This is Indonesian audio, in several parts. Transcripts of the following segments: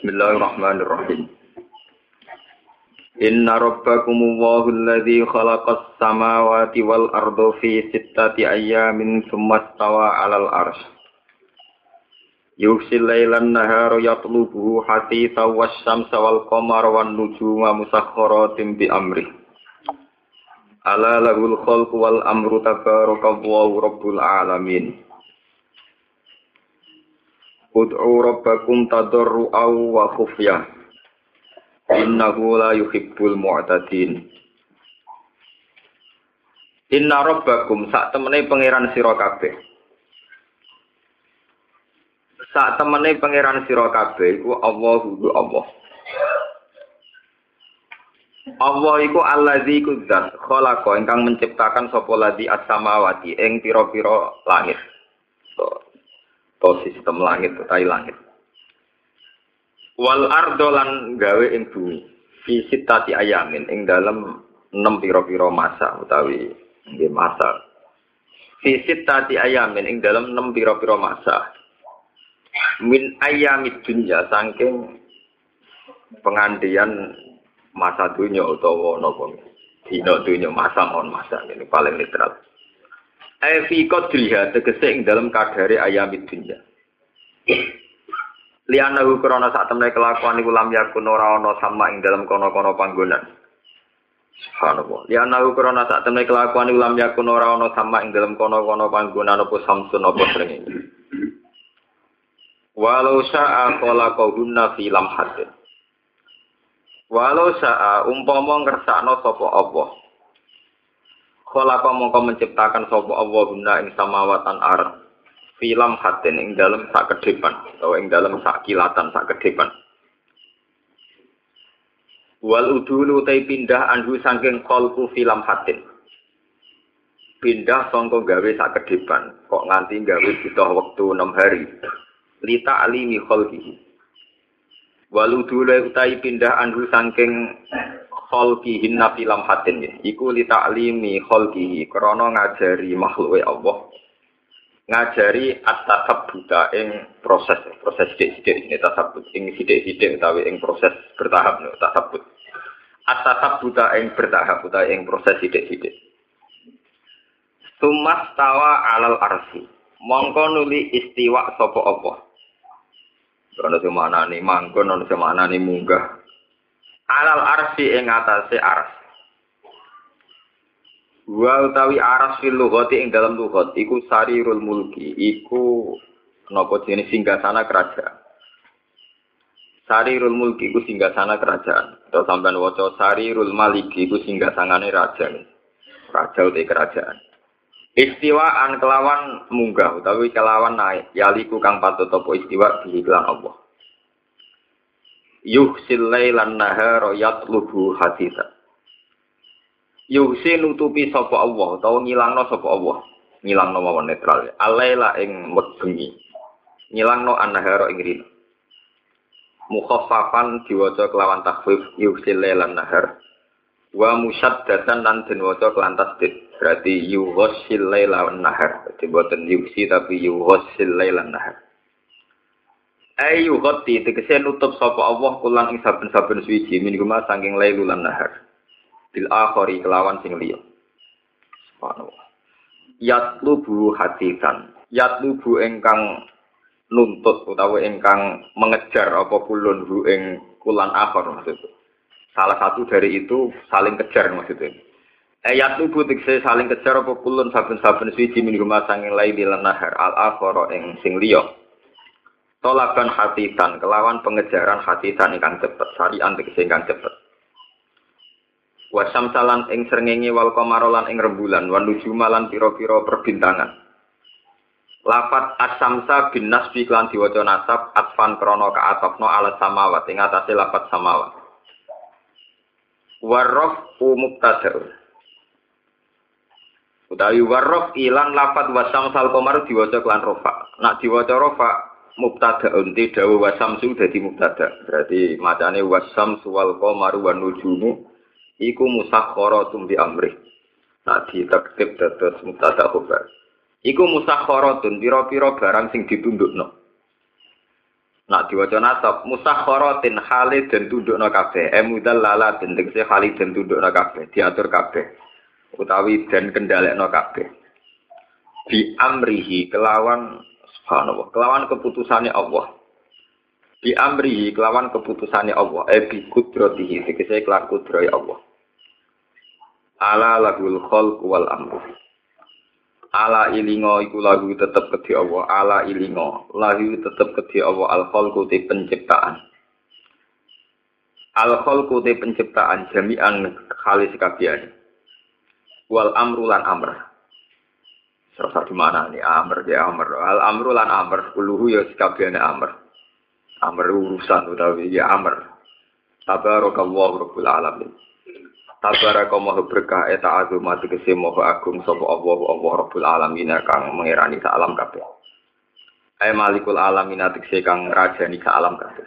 Bismillahirrahmanirrahim. Inna rabbakumullahu alladzi khalaqas samawati wal arda fi sittati ayyamin tsumma istawa 'alal 'arsy. Yughsil lailan nahara yatlubuhu hasithan wasyamsa wal qamara wan nujuma musakhkharatin bi amri. Ala lahul khalqu wal amru tabarakallahu rabbul alamin. Ud'u rabbakum tadarru'aw wa khufyah. Innahu la yuhibbul mu'tadin. Inna rabbakum sak temene pangeran sira kabeh. Sak temene pangeran sira kabeh iku Allahu Allah. Allah iku allazi kudzat khalaqa ingkang menciptakan sapa ladzi as-samawati ing pira-pira langit. To sistem langit utawi langit. Wal ardo lan gawe ing bumi fi sittati ayamin ing dalem 6 pira-pira masa utawi nggih masa. Fi sittati ayamin ing dalem 6 pira-pira masa. Min ayamid dunya saking pengandian masa dunya utawa napa dina dunya masa mon masa ini paling literal. Fi qadriha tegese ing dalem kadare ayamid dunya. Lianahu krana sak temne kelakuan iku lam yakun ora ana sama ing dalem kono-kono panggonan. Subhanallah. Lianahu krana sak temne kelakuan iku lam yakun ora ana sama ing dalem kono-kono panggonan apa samsun apa srengenge. Walau sa'a khalaqahunna fi lamhatin. Walau sa'a umpama ngersakno sapa Allah. Khalaqa mongko menciptakan sapa Allah guna ing samawatan ardh. Film hatin ing dalam sak kedepan atau ing dalam sak kilatan sak kedepan. Wal udulu tai pindah anhu saking khalqu film hatin. Pindah sangka gawe sak kedepan kok nganti gawe butuh wektu 6 hari. Li ta'limi khalqihi. Wal udulu tai pindah anhu saking khalqihi na film hatin iku li ta'limi khalqihi krana ngajari makhluke Allah. Ngajari at-tasabbuta ing proses sithik-sithik ini tasabbut ing sithik-sithik utawi ing proses bertahap no tasabbut. At-tasabbuta ing bertahap utawi ing proses sithik-sithik. Sumastawa 'alal arsy. Mongko nuli istiwa sapa apa? Ana sing maknane manggon ana sing maknane munggah. 'Alal arsy ing atase arsy. Wa utawi aras fil lughati ing dalam lughat iku sarirul mulki iku napa jenenge singgasana kerajaan. Sarirul mulki iku singgasana kerajaan. Atau sampean waca sarirul maliki iku singgasangane raja. Raja utawi kerajaan. Istiwaan kelawan munggah utawi kelawan naik yaliku kang patut apa istiwa diiklan Allah. Yuhsil lailan nahara yatlubu haditha. Yuhsi nutupi sapa Allah utawa ngilangno sapa Allah. Ngilangno mawon netral. Alaila ing bengi. Ngilangno an-nahara ing rina. Mukhaffafan diwaca kelawan takhfif yuhsi lailan nahar. Wa musyaddatan lan den waca kelan tasdid. Berarti yuhsil lailan nahar. Dadi boten yuhsi tapi yuhsil lailan nahar. Ayu ghati tegese nutup sapa Allah kulang ing saben-saben suwiji mingguma saking lailulan nahar. Bil akhari kelawan sing liya. Subhanallah. Yatlubu hatisan. Yatlubu ingkang nuntut utawa ingkang mengejar apa kulun hu ing kulan akhir maksudnya. Salah satu dari itu saling kejar maksudnya. Yatlubu tegese saling kejar apa kulun saben-saben siji min rumah sanging laili lan nahar al akhara ing sing liya. Tolakan hatisan kelawan pengejaran hatisan ingkang cepet sarian tegese ingkang cepet. Wasam salan ing srengenge wal qamara lan ing rembulan wan nujuma lan pira-pira perbintangan. Lafat as-samsa bin nasbi lan diwaca nasab atfan krana ka'atafna ala samawat ing atase lafat samawat. Warraf mubtada. Utawi warraf ilan lafat wasam sal qamar diwaca kelan rafa. Nak diwaca rafa mubtada unti dawu wasam su dadi mubtada. Berarti macane wasam wal qamaru wan nujumu iku musakhkharatun bi amri. Tadi taktib dados mubtada khabar. Iku musakhkharatun pira-pira barang sing ditundukno. Nak diwaca nasab musakharatin halid dan tundukna kabeh. Mudallala den tegese halid dan tundukna kabeh, diatur kabeh. Utawi dan kendhalekna kabeh. Bi amrihi kelawan subhanallah, kelawan keputusane Allah. Bi amrihi kelawan keputusane Allah, bi qudratihi tegese kelan kudrahe Allah. Ala lahul khalq wal amru. Ala ilingo iku lagu tetep kedhi Allah, ala ilingo lagu tetep kedhi Allah al khalqu te penciptaan. Al khalqu te penciptaan jami'an khalis kabehane. Wal amru lan amr. Serasa di mana nih amr ya amr. Al amru lan amr kuluhu ya kabehane amr. Amr urusan utawi ya amr. Tabarakallahu rabbul alamin. Tabarakallahu berkah eta azumat tegese moga agung sapa Allah rabbul alamin kang mengerani sak alam kabeh. Ai malikul alamin tegese kang rajani sak alam kabeh.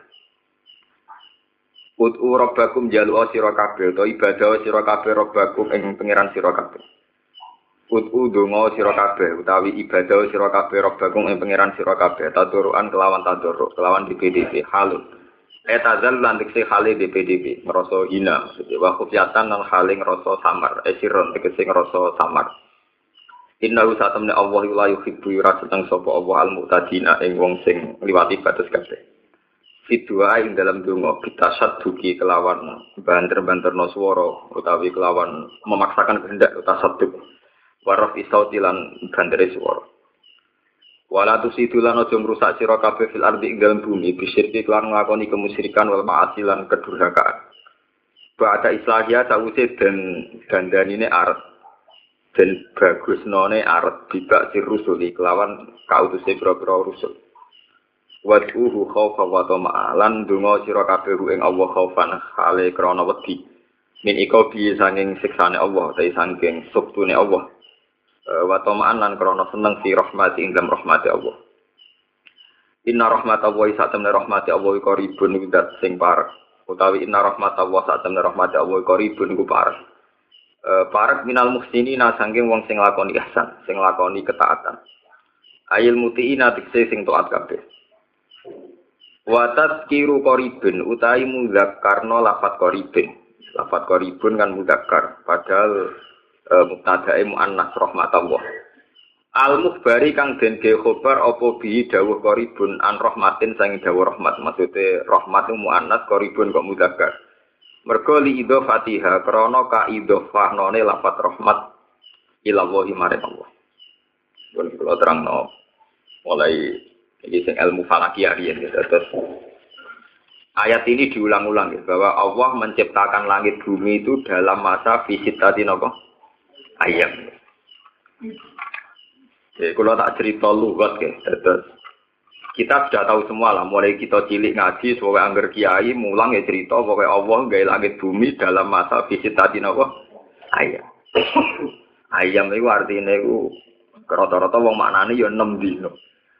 Ud'u rabbakum jalu sira kabeh utawa ibadah sira kabeh rabbakum ing pangeran sira kabeh. Ud'u donga sira kabeh utawi ibadah sira kabeh rabbakum ing pangeran sira kabeh taduruan kelawan taduruk kelawan DPDP halus. Etazal lan tekse khali DPDP ngrasa hina wa khufyatan lan khali ngrasa samar esiron tekse ngrasa samar. Innahu satamne Allah la yuhibbu rasulun sapa Allah al-mu'tadina ing wong sing liwati batas kabeh. Fidua ing dalam donga bitasadduki kelawan banter-banterno swara utawi kelawan memaksakan kehendak tasadduk. Waraf isauti lan bandere swara. Wala tusidulan aja ngrusak sira kabeh fil ardi ing dalem bumi bisyirki lan nglakoni kemusyrikan wal ma'asi lan kedurhakaan. Ba'da islahia sawise dan dandanine arep den bagusnone arep dibak sir rusuli kelawan kautuse pira-pira rusul. Wad'uhu khaufa wa tama'a lan donga sira kabeh ing Allah khaufan hale krana wedi. Min iko bi sanging siksane Allah ta sanging suktune Allah. Wa tama'an lan krana seneng fi rahmati ing dalam rahmati Allah. Inna rahmatallahi satamna rahmati Allah iku qaribun widat sing parek. Utawi inna rahmatallahi satamna rahmati Allah iku qaribun iku parek. Parek minal muhsinina sanging wong sing lakoni ihsan, sing lakoni ketaatan. Ayil mutiina tikse sing taat kabeh. Wa tazkiru qaribun utawi mudzakarna lafat qaribun. Lafat qaribun kan mudzakkar padahal mubtadae muannas rahmatullah. Al-mukhbari kang den ge khobar apa bi dawuh qaribun an rahmatin sang dawuh rahmat. Maksude rahmat muannas qaribun kok mudzakkar. Mergo li idhofatiha krana ka idhofahnone lafat rahmat ila wahi maring Allah. Kula terangno mulai iki sing ilmu falakiyah riyen terus ayat ini diulang-ulang ya, bahwa Allah menciptakan langit bumi itu dalam masa visitati napa ayam. Jadi kalau tak cerita lugat ke, terus kita sudah tahu semua lah. Mulai kita cilik ngaji, sebagai angger kiai, mulang ya cerita bahwa Allah gaya langit bumi dalam masa visitati napa ayam. Ayam itu artinya itu rata-rata wong maknane ya 6 dino.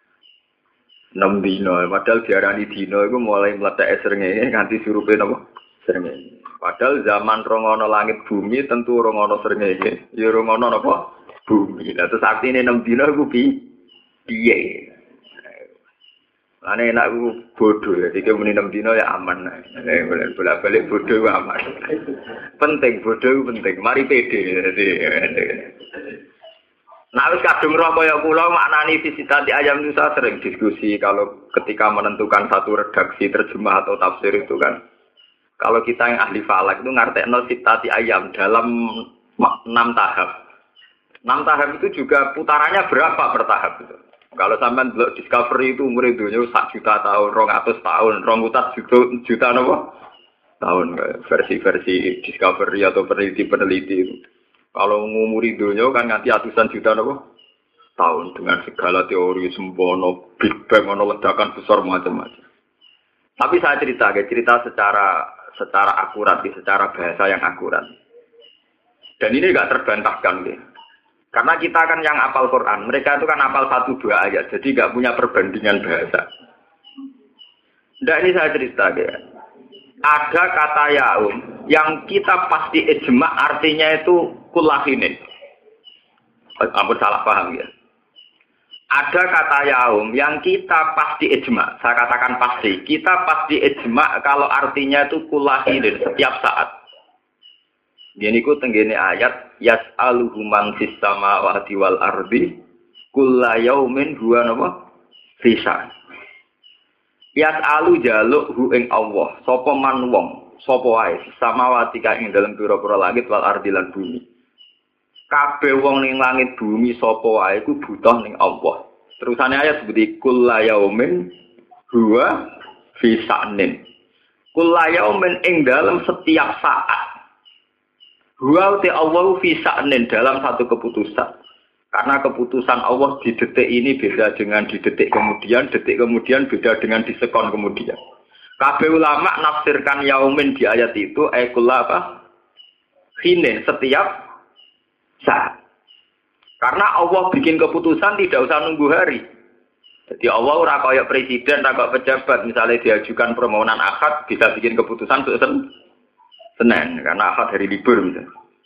6 dino, padahal diarani dino itu mulai meletak srengenge nganti surupe napa srengenge. Padahal zaman rongono langit bumi tentu rongono srengenge, ya rongono napa bumi. Lah terus artine 6 dino iku piye? Ane enak ku bodoh ya, iki muni 6 dino ya aman. Bolak-balik bodoh aman. Penting bodoh penting, mari pede. Nah, wis kadung roh kaya kula maknani visitati ayam itu saya sering diskusi kalau ketika menentukan satu redaksi terjemah atau tafsir itu kan. Kalau kita yang ahli falak itu ngartekno visitati ayam dalam 6 tahap. 6 tahap itu juga putarannya berapa per tahap itu. Kalau sampean delok Discovery itu umur dunya 1 juta tahun, 200 tahun, 200 juta napa? Tahun versi-versi Discovery atau peneliti-peneliti itu. Kalau ngumuri dunia kan nganti atusan juta napa tahun dengan segala teori sembono Big Bang ono ledakan besar macam-macam. Tapi saya cerita secara akurat, secara bahasa yang akurat. Dan ini enggak terbantahkan gitu. Karena kita kan yang hafal Quran, mereka itu kan hafal 1-2 ayat, jadi enggak punya perbandingan bahasa. Nah ini saya cerita gitu. Ada kata yaum yang kita pasti ijma artinya itu kulahine. Ampun salah paham ya. Ada kata yaum yang kita pasti ijma. Saya katakan pasti. Kita pasti ijma kalau artinya itu kulahidin setiap saat. Gini ku tenggene ayat yas'aluhu man fis samawati wal ardi kulla yaumin huwa napa fisa. Yas'alu jaluk hu ing Allah sapa man wong sapa wae samawati ka ing dalem pira-pira langit wal ardi lan bumi. Kabeh wong ning langit bumi sapa wae iku butuh ning Allah. Terusane ayat seperti kulla yaumin huwa fisanin. Kulla yaumin ing dalem setiap saat. Huwa te Allah fisanin dalam satu keputusan. Karena keputusan Allah di detik ini beda dengan di detik kemudian beda dengan di sekon kemudian. Kabeh ulama nafsirkan yaumin di ayat itu kulla apa? Hinin setiap saat. Karena Allah bikin keputusan tidak usah nunggu hari. Jadi Allah ora kaya presiden, ora kaya pejabat, misalnya diajukan permohonan akad bisa bikin keputusan Senin, karena akad hari libur misalnya.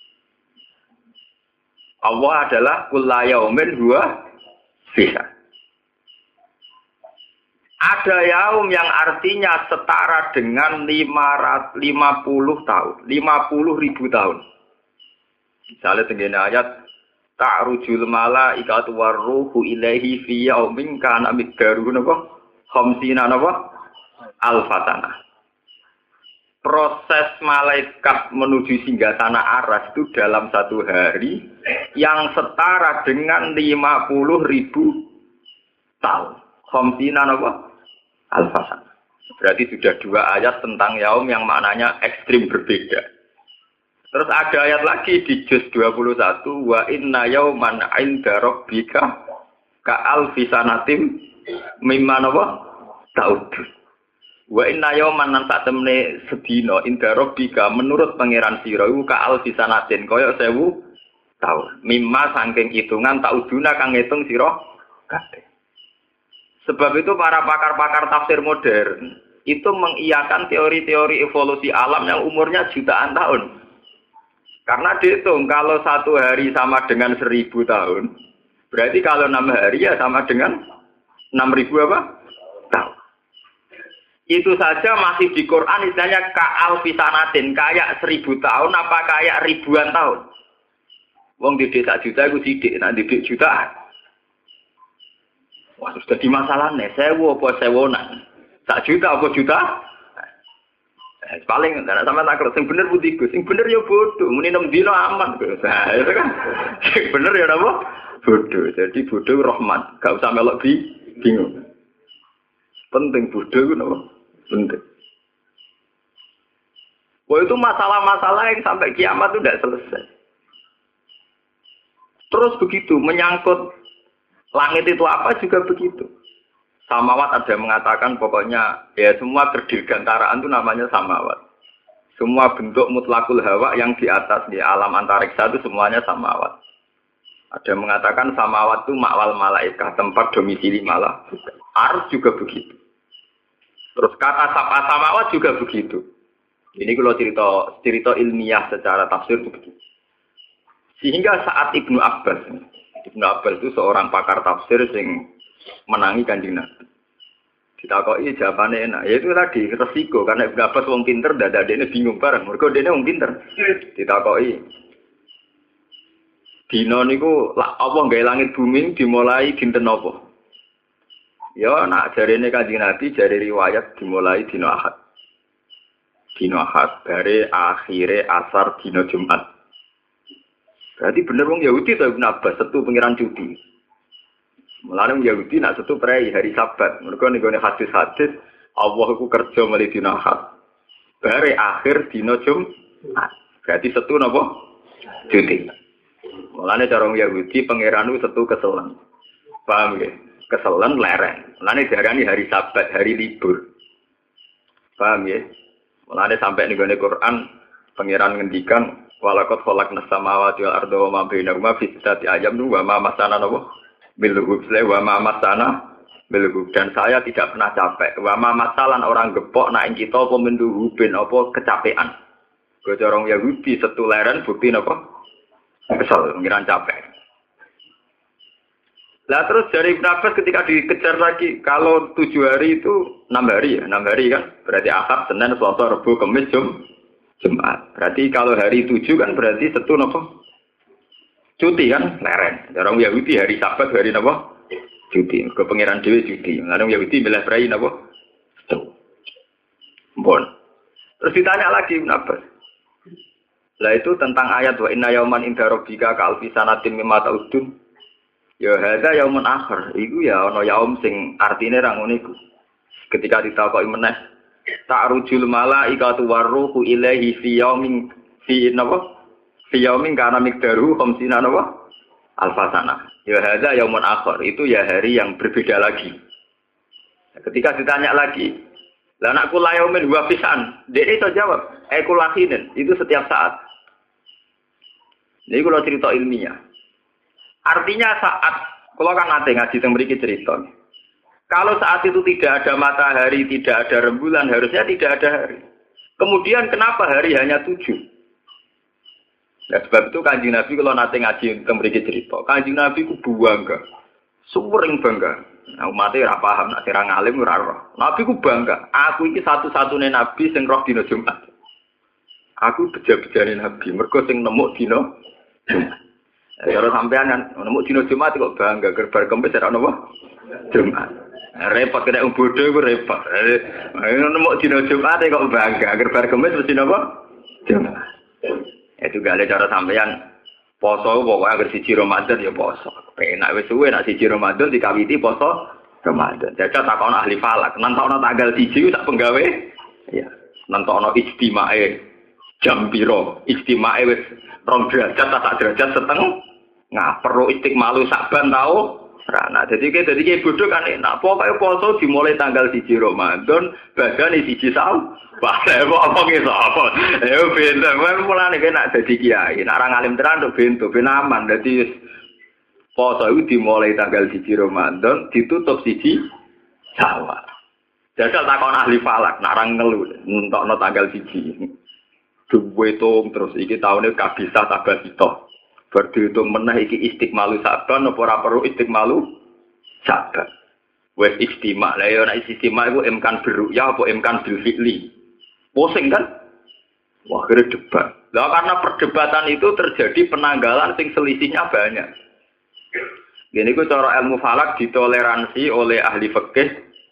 Allah adalah kulla yaumin huwa fisa. Ada yaum yang artinya setara dengan 50 tahun, 50.000 tahun. Misalnya tenggene ayat ta'rujul malaikatu warruhu ilaihi fi yaumin kana miqdaruhu napa? Khamsina napa? Alfatana. Proses malaikat menuju singgasana aras itu dalam satu hari yang setara dengan 50.000 tahun. Khamsina napa? Alfatana. Berarti sudah dua ayat tentang yaum yang maknanya ekstrim berbeda. Terus ada ayat lagi di juz 21 wa inna yauman 'inda rabbika ka alfi sanatin mimma napa? Ta'ud. Wa inna yauman nan sak temne sedina inda rabbika menurut pangeran sira iku ka alfi sanatin kaya 1000 tahun. Mimma saking hitungan ta'uduna kang ngitung sira kabeh. Sebab itu para pakar-pakar tafsir modern itu mengiyakan teori-teori evolusi alam yang umurnya jutaan tahun. Karena dihitung kalau satu hari sama dengan 1000 tahun, berarti kalau 6 hari ya sama dengan 6.000 apa? Tahun. Itu saja masih di Quran istilahnya ka'al fisanatin, kayak 1000 tahun apa kayak ribuan tahun. Wong didik sak juta iku sidik, nek didik jutaan. Wah, sudah di masalahnya, 1000 apa 1000-an? Sak juta apa juta? Paling nek sampean tak kira sing bener putih Gus, sing bener ya bodoh, muni 6 dina aman Gus. Nah, itu kan. Sing bener ya apa? Bodoh. Jadi bodoh rahmat, gak usah melok bingung. Penting bodoh itu apa? Penting. Wah itu masalah-masalah yang sampai kiamat itu tidak selesai. Terus begitu, menyangkut langit itu apa juga begitu. Samawat ada yang mengatakan pokoknya ya semua berdirgantaraan itu namanya samawat. Semua bentuk mutlakul hawa yang di atas di alam antariksa itu semuanya samawat. Ada yang mengatakan samawat itu ma'wal malaikat, tempat domisili malaikat. Ars juga begitu. Terus kata sab'a samawat juga begitu. Ini kalau cerita ilmiah secara tafsir itu begitu. Sehingga saat Ibnu Abbas itu seorang pakar tafsir yang menangi Kanjeng Nabi. Ditakoki jawabannya enak. Ya itu tadi resiko karena Ibnu Abbas wong pinter, dadane bingung bareng. Mergo dene wong pinter. Ditakoki dina niku apa gawe langit bumi dimulai dinten apa? Ya nak jarene Kanjeng Nabi jare riwayat dimulai dina Ahad. Dina Ahad bare akhire asar dina Jumat. Berarti bener wong Yahudi to Ibnu Abbas setu pengiran cuti. Mulane wong Yahudi nak setu prei hari Sabat. Mergo ning gone hadis-hadis Allah iku kerja mulai dina Ahad. Bare akhir dina Jumat. Berarti setu napa? Cuti. Mulane cara wong Yahudi pangeran itu setu keselen. Paham nggih? Keselen lereng. Mulane diarani hari Sabat, hari libur. Paham ya? Mulane sampai ning gone Quran pangeran ngendikan walaqad khalaqnas samawati wal arda wa ma bainahuma fi sittati ayyam wa ma masana napa bil wa ma masana bil dan saya tidak pernah capek. Wa ma masalan orang gepok nak ing kita apa menduhubin apa kecapean. Gocorong Yahudi setu leren bukti napa? Kesel, ngiran capek. Lah terus dari Ibn Abbas ketika dikejar lagi, kalau 7 hari itu 6 hari ya, 6 hari kan, berarti Ahad, Senin, Selasa, Rabu, Kamis, Jumat. Berarti kalau hari 7 kan berarti Setu nopo? Cuti kan, leren. Orang Yahudi hari Sabat, hari nopo? Cuti. Ke pangeran dhewe cuti. Orang Yahudi milih prai nopo? Setu. Bon. Terus ditanya lagi Ibn Abbas. Lah itu tentang ayat wa inna yauman inda rabbika ka alfi sanatin mimma ta'udun. Ya hadza yaumun akhir. Iku ya ana yaum sing artine ra ngono iku. Ketika ditakoki meneh ta'rujul malaikatu warruhu ilaihi fi yaumin fi napa? Fi yaumin kana miqdaru 50 napa? Alfasana. Ya hadza yaumun akhir. Itu ya hari yang berbeda lagi. Ketika ditanya lagi, lah anakku layaumin huwa fisan. Dia itu jawab, kulahinin. Itu setiap saat. Jadi kalau cerita ilmiah. Artinya saat, kalau kan nanti ngaji yang beri cerita. Kalau saat itu tidak ada matahari, tidak ada rembulan, harusnya tidak ada hari. Kemudian kenapa hari hanya 7? Nah, sebab itu Kanjeng Nabi kalau nanti ngaji yang beri cerita. Kanjeng Nabi ku bangga. Sering bangga. Nah, umatnya ora paham, nak sira ngalim ora roh. Nabi ku bangga. Aku iki satu-satunya nabi sing roh dina Jumat. Aku beja-bejane nabi, mergo sing nemu dina Jumat. Kalau sampean kan nemu dina Jumat kok bangga gerbar Kamis ora napa? Jumat. Repot kena bodoh iku repot. Nemu dina Jumat kok bangga gerbar Kamis mesti napa? Jumat. Itu gale cara sampean poso pokoknya agar siji Ramadan ya poso. Penak wis suwe nek siji Ramadan dikawiti poso Ramadan. Jajal takon ahli falak, nentokno tanggal 1 sak penggawe. Ya, nentokno istimae jam piro? Istimae wis 2 derajat tak derajat setengah. Perlu istiqmalu Saban tau. Nah, jadi kayak bodoh kan enak. Pokoknya poso dimulai tanggal 1 Ramadan, badane 1 Syawal. Wah, kok apa gitu apa? Ayo bento, mulane kena dadi kiai. Nek ora ngalim tenan tok bento, ben aman. Dadi poso itu dimulai tanggal 1 Ramadan, ditutup 1 Syawal. Jajal takon ahli falak, nek ora ngelu entokno tanggal 1. Duwe tung terus iki taune kabisa tabasito. Berdihitung meneh iki istiqmalu Saban apa ora perlu istiqmalu Saban. Wes istimak. Lah ya nek istimak iku imkan berru'ya apa imkan bil fi'li. Pusing kan? Wah, kira debat. Lah karena perdebatan itu terjadi penanggalan sing selisihnya banyak. Gini ku cara ilmu falak ditoleransi oleh ahli fikih.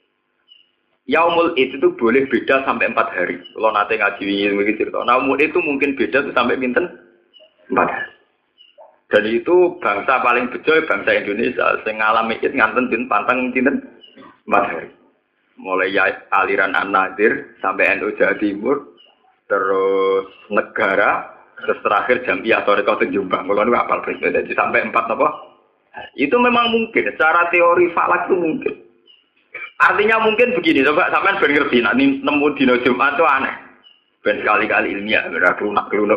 Yaumul Id itu boleh beda sampai 4 hari. Kalau nanti ngaji wingi cerita. Yaumul Id itu mungkin beda tuh sampai pinten 4 hari. Dan itu bangsa paling bejo bangsa Indonesia. Sing ngalami Id nganten pin pantang pinten 4 hari. Mulai aliran An-Nadir sampai NU Jawa Timur, terus negara, terus terakhir Jamiah Thariqah Jombang. Kalau nu apal presiden jadi sampai 4 apa? Itu memang mungkin. Secara teori falak itu mungkin. Artinya mungkin begini, coba sampean ben ngerti, nek nemu dina Jumat itu aneh. Ben sekali-kali ilmiah, ora klunak-klunak.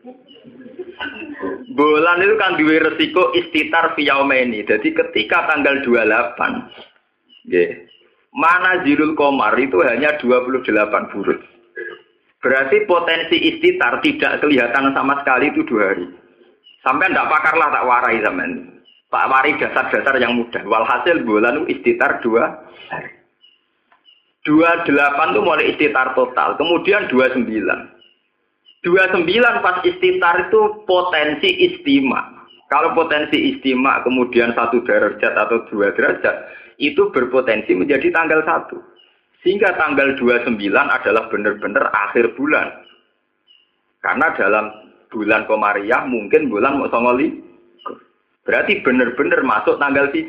Bulan itu kan duwe resiko istitar fi yaumeni. Jadi ketika tanggal 28, nggih. Mana Zilul Qamar itu hanya 28 buruj. Berarti potensi istitar tidak kelihatan sama sekali itu 2 hari. Sampai ndak pakarlah tak warai sampean. Pak warai dasar-dasar yang mudah. Walhasil bulan itu istitar 2 hari. 28 itu mulai istitar total. Kemudian 29. 29 pas istitar itu potensi istima. Kalau potensi istima kemudian 1 derajat atau 2 derajat, itu berpotensi menjadi tanggal 1. Sehingga tanggal 29 adalah benar-benar akhir bulan. Karena dalam bulan Komariah mungkin bulan mau songoli. Berarti benar-benar masuk tanggal 1.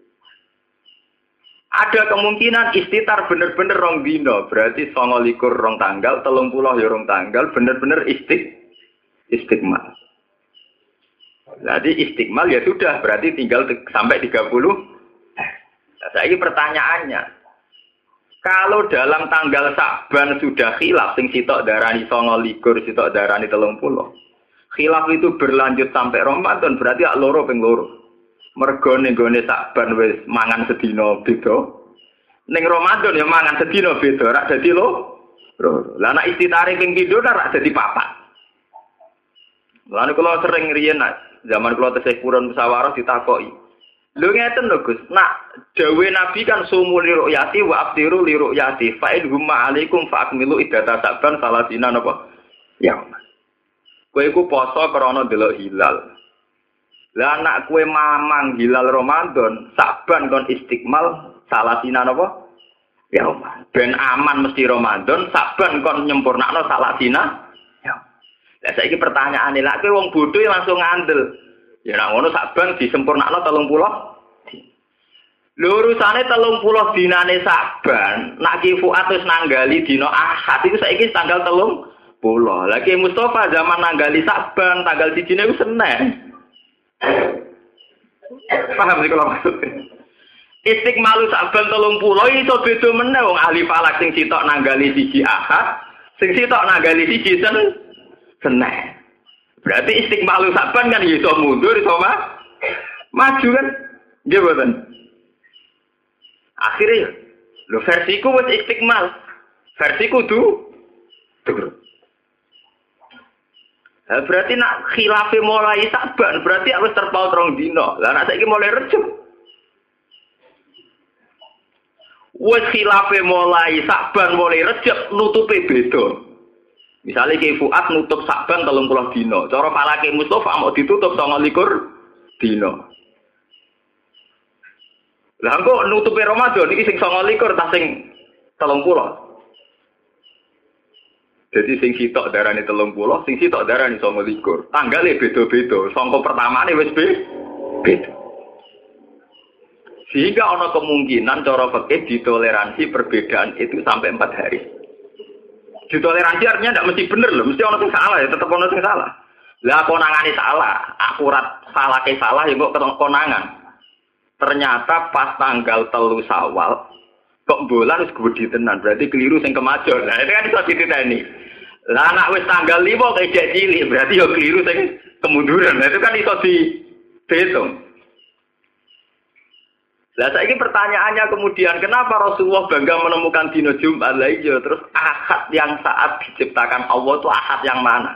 Ada kemungkinan istitar benar-benar rong dino. Berarti songolikur rong tanggal, 30 ya rong tanggal, benar-benar istiqmal. Jadi istiqmal ya sudah, berarti tinggal sampai 30. Saya ini pertanyaannya, kalau dalam tanggal Saban sudah khilaf, sing sitok darani 29, sitok darani 30, khilaf itu berlanjut sampai Ramadan, berarti ak loro ping loro. Mergo ning gone Saban wis mangan sedina beda. Ning Ramadan ya mangan sedina beda, rak dadi loro. Lah nek istitare ping 7 rak dadi 4. Lan kula sering riyen zaman kula tesih purun musyawarah ditakoki. Lho ngeten lho Gus. Nak dawe Nabi kan sumu li ru'yati wa aftiru li ru'yati. Fa in humma alaikum fa akmilu iddata saban salasina napa? Ya. Kowe iku poso krana delok hilal. Lah anak kowe mamang hilal Ramadan, saban kon istiqmal salasina napa? Ya. Ben aman mesti Ramadan, saban kon nyempurnakno salasina. Ya. Lah saiki pertanyaane lak kowe wong bodho langsung ngandel. Ya nak ngono saban disempurnakno 30. Lho urusane 30 dinane saban, nak ki Fuad wis nanggali dina Ahad iku saiki tanggal 30. Lagi Mustafa zaman nanggali saban tanggal 1 iku Senin. Paham sih kalau maksudnya? Istiqmalu saban 30 iso beda meneh wong ahli falak sing sitok nanggali 1 Ahad, sing sitok nanggali 1 Senin. Berarti istiqmalu saban kan iso mundur iso maju kan? Nggih mboten. Akhirnya lho versiku wis istiqmal. Versiku tuh. Berarti nak khilafe mulai saban, berarti harus terpaut rong dino. Lah nak saiki mulai Rejab. Wis khilafe mulai saban mulai Rejab nutupe beda. Misalnya Ki Fuad nutup saban 30 dino, cara falake Mustafa mau ditutup 29 dino. Lah kok nutupe Ramadan iki sing 29 ta sing 30. Jadi sing sitok darane 30, sing sitok darane 29. Tanggale beda-beda, sangka pertamane wis beda. Sehingga ana kemungkinan cara fikih ditoleransi perbedaan itu sampai 4 hari. Ditoleransi artinya tidak mesti bener loh, mesti ono sing salah ya, tetep ono sing salah. Lah konangane salah, akurat salah ke salah ya kok konangan. Ternyata pas tanggal 3 Syawal kok bulan wis gedhi tenan, berarti keliru sing kemajon. Nah, itu kan iso dititeni. Lah anak wis tanggal 5 kok cilik, berarti yo keliru sing kemunduran. Nah, itu kan iso dihitung. Lah saiki pertanyaannya kemudian kenapa Rasulullah bangga menemukan dino Jumat lah iya terus Ahad yang saat diciptakan Allah itu Ahad yang mana?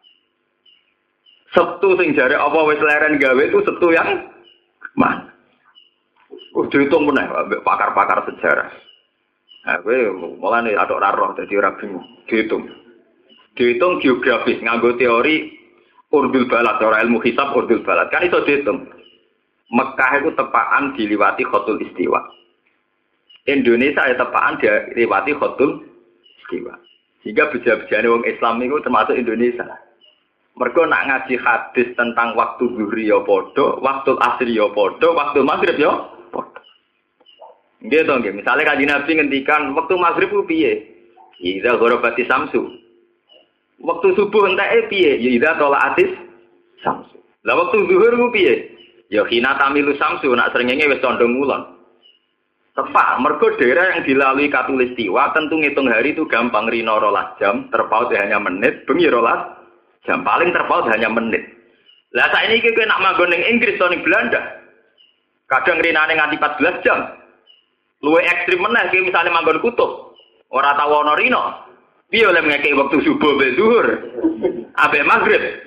Sabtu sing jare apa wis leren gawe itu Sabtu yang mana? Dihitung meneh ambek pakar-pakar sejarah. Nah, kowe mulane atok ra roh dadi ora bingung. Dihitung geografis nganggo teori urdul balad, ora ilmu hisab urdul balad. Kan iso dihitung. Mekah itu tepaan diliwati Khotul Istiwa. Indonesia ya tepaan diliwati Khotul Istiwa. Sehingga beja-bejane wong Islam itu termasuk Indonesia. Mergo nak ngaji hadis tentang waktu zuhri ya padha, waktu asri ya padha, waktu maghrib ya padha. Nggih to nggih. Misale Kanjeng Nabi ngendikan waktu maghrib ku piye? Idza gharabati samsu. Waktu subuh enteke piye? Ya idza talaatis samsu. Lah waktu zuhur ku piye? Ya khina tamilu samsu nak srengenge wis condong ngulon. Tepat, mergo daerah yang dilalui Katulistiwa tentu ngitung hari itu gampang rino 12 jam, terpaut hanya menit, bengi 12 jam, paling terpaut hanya menit. Lah saiki kowe nak manggon ning Inggris atau ning Belanda. Kadang rinane nganti 14 jam. Luwih ekstrim meneh kowe misale manggon kutub. Ora tau ana rino. Piye oleh ngekeki wektu subuh be zuhur? Abe maghrib.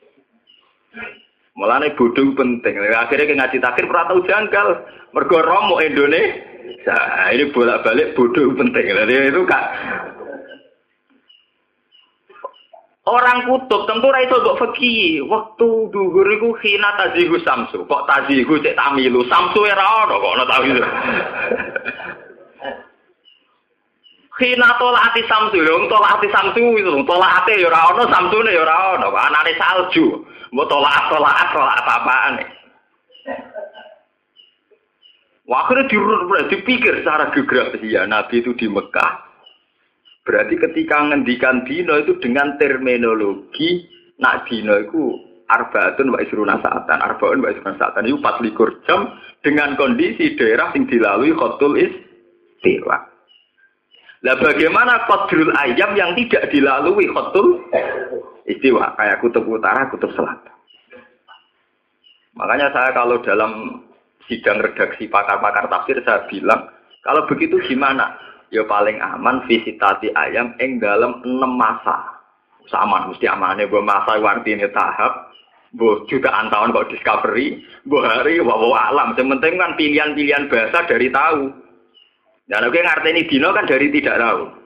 Mulane bodho penting. Akhirnya ke ngaji takhir ora tau janggal. Mergo romo Indonesia. Ini bolak-balik bodho penting. Jadi itu Kak. Orang kutub tentu ra iso mbok fikih. Waktu zuhur iku khina tazihu samsu. Kok tazihu cek tamilu. Samsu ora ono kok ono tawilu. Khina tolati samsu, lho tolati samsu itu, tolate ya ora ono, samsune ya ora ono, anane salju. Mbok tolak apa-apaan. Wah, akhirnya dipikir secara geografis ya Nabi itu di Mekah. Berarti ketika ngendikan dino itu dengan terminologi nak dino itu arbaatun wa isruna sa'atan, arbaun wa isruna sa'atan itu 24 jam dengan kondisi daerah yang dilalui Khotul Istiwa. Lah bagaimana qadrul ayam yang tidak dilalui Khotul Istiwa kayak kutub utara, kutub selatan. Makanya saya kalau dalam sidang redaksi pakar-pakar tafsir saya bilang, kalau begitu gimana? Ya paling aman visitasi ayam ing dalam 6 masa. Sama mesti amane mbok masa artine tahap Mbok jutaan tahun kok discovery, mbok hari wawa alam. Sementing kan pilihan-pilihan bahasa dari tahu. Dan oke ngarteni dino kan dari tidak tahu.